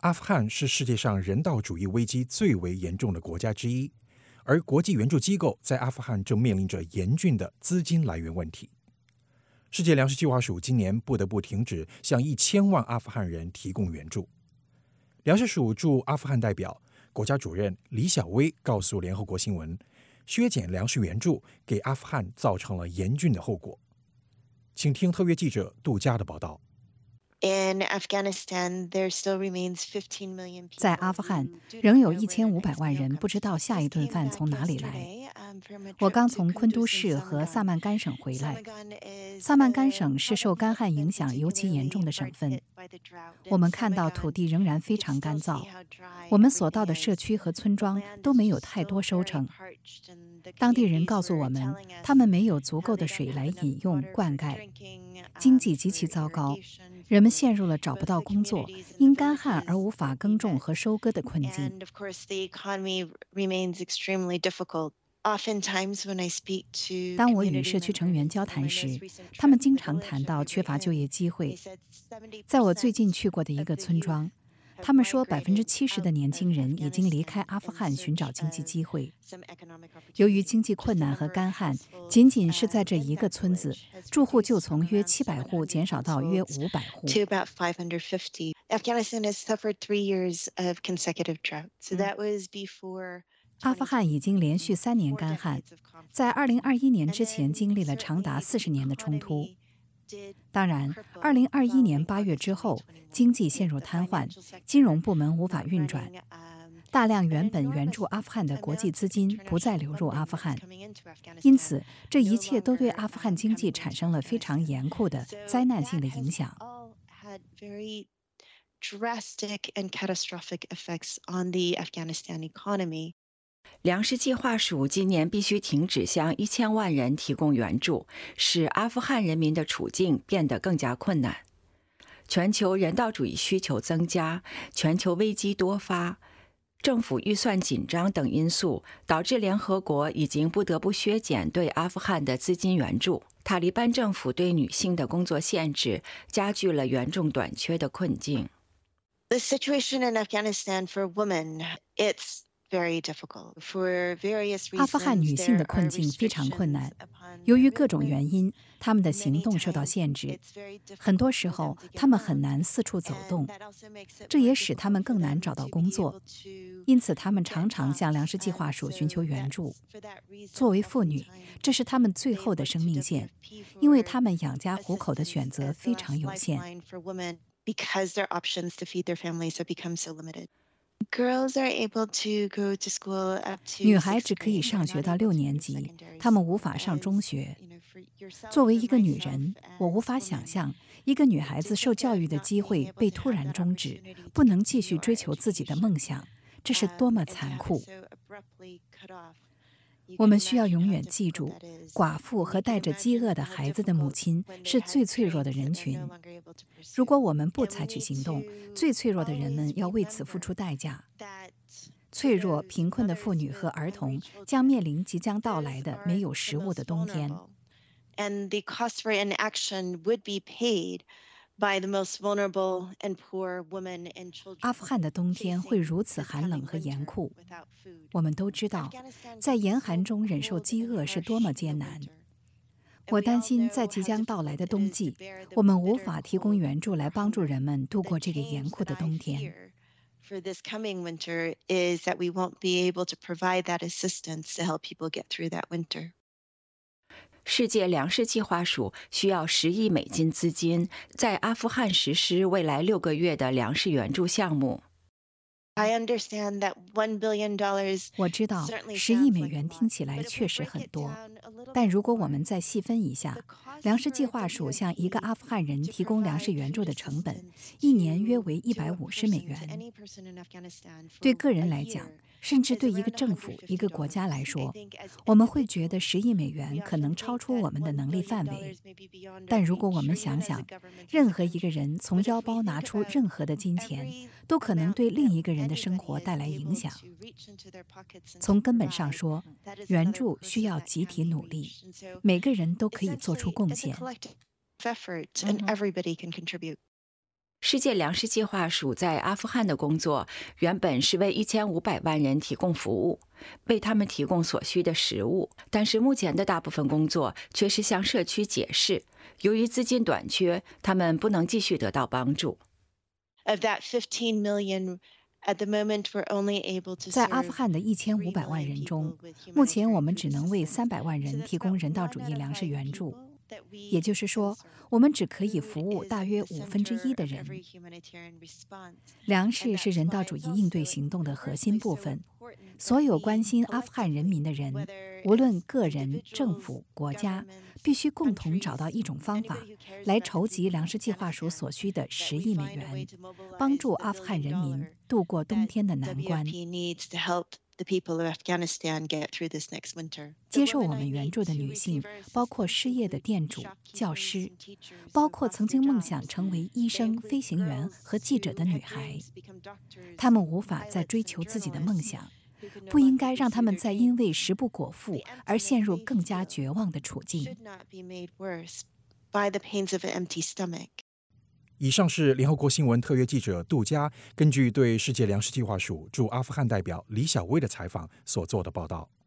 阿富汗是世界上人道主义危机最为严重的国家之一，而国际援助机构在阿富汗正面临着严峻的资金来源问题。世界粮食计划署今年不得不停止向1000万阿富汗人提供援助。粮食署驻阿富汗代表、国家主任李小薇告诉联合国新闻，削减粮食援助给阿富汗造成了严峻的后果。请听特约记者杜佳的报道。 在阿富汗，仍有1500万人不知道下一顿饭从哪里来。我刚从昆都市和萨曼甘省回来。萨曼甘省是受干旱影响尤其严重的省份。我们看到土地仍然非常干燥，我们所到的社区和村庄都没有太多收成。当地人告诉我们，他们没有足够的水来饮用、灌溉，经济极其糟糕。人们陷入了找不到工作、因干旱而无法耕种和收割的困境。当我与社区成员交谈时，他们经常谈到缺乏就业机会。在我最近去过的一个村庄，他们说70%的年轻人已经离开阿富汗寻找经济机会。由于经济困难和干旱，仅仅是在这一个村子，住户就从约700户减少到约500户。阿富汗已经连续3年干旱，在2021年之前经历了长达40年的冲突。当然，2021年8月之后，经济陷入瘫痪，金融部门无法运转，大量原本援助阿富汗的国际资金不再流入阿富汗，因此这一切都对阿富汗经济产生了非常严酷的灾难性的影响。 粮食计划署今年必须停止向1000万人提供援助，使阿富汗人民的处境变得更加困难。全球人道主义需求增加，全球危机多发，政府预算紧张等因素，导致联合国已经不得不削减对阿富汗的资金援助。塔利班政府对女性的工作限制，加剧了援助短缺的困境。 The situation in Afghanistan for women, it's 阿富汗女性的困境非常困难，由于各种原因，她们的行动受到限制。很多时候，她们很难四处走动，这也使她们更难找到工作。因此，她们常常向粮食计划署寻求援助。作为妇女，这是她们最后的生命线，因为她们养家糊口的选择非常有限。女孩只可以上学到6年级，她们无法上中学。作为一个女人，我无法想象一个女孩子受教育的机会被突然终止，不能继续追求自己的梦想，这是多么残酷！我们需要永远记住，寡妇和带着饥饿的孩子的母亲是最脆弱的人群。如果我们不采取行动，最脆弱的人们要为此付出代价。脆弱、贫困的妇女和儿童将面临即将到来的没有食物的冬天。阿富汗的冬天会如此寒冷和严酷。我们都知道，在严寒中忍受饥饿是多么艰难。我担心在即将到来的冬季，我们无法提供援助来帮助人们度过这个严酷的冬天。 世界粮食计划署需要10亿美金资金，在阿富汗实施未来6个月的粮食援助项目。 我知道10亿美元听起来确实很多，但如果我们再细分一下，粮食计划署向一个阿富汗人提供粮食援助的成本，一年约为150美元。对个人来讲，甚至对一个政府、一个国家来说，我们会觉得10亿美元可能超出我们的能力范围。但如果我们想想，任何一个人从腰包拿出任何的金钱，都可能对另一个人的生活带来影响。从根本上说，援助需要集体努力，每个人都可以做出贡献。 世界粮食计划署在阿富汗的工作原本是为1500万人提供服务，为他们提供所需的食物，但是目前的大部分工作却是向社区解释，由于资金短缺，他们不能继续得到帮助。 在阿富汗的1500万人中，目前我们只能为300万人提供人道主义粮食援助。也就是说，我们只可以服务大约1/5的人。粮食是人道主义应对行动的核心部分。所有关心阿富汗人民的人，无论个人、政府、国家，必须共同找到一种方法，来筹集粮食计划署所需的10亿美元，帮助阿富汗人民度过冬天的难关。接受我们援助的女性包括失业的店主、教师，包括曾经梦想成为医生、飞行员和记者的女孩。她们无法再追求自己的梦想，不应该让他们再因为食不果腹而陷入更加绝望的处境。 以上是联合国新闻特约记者杜佳根据对世界粮食计划署驻阿富汗代表李小薇的采访所做的报道。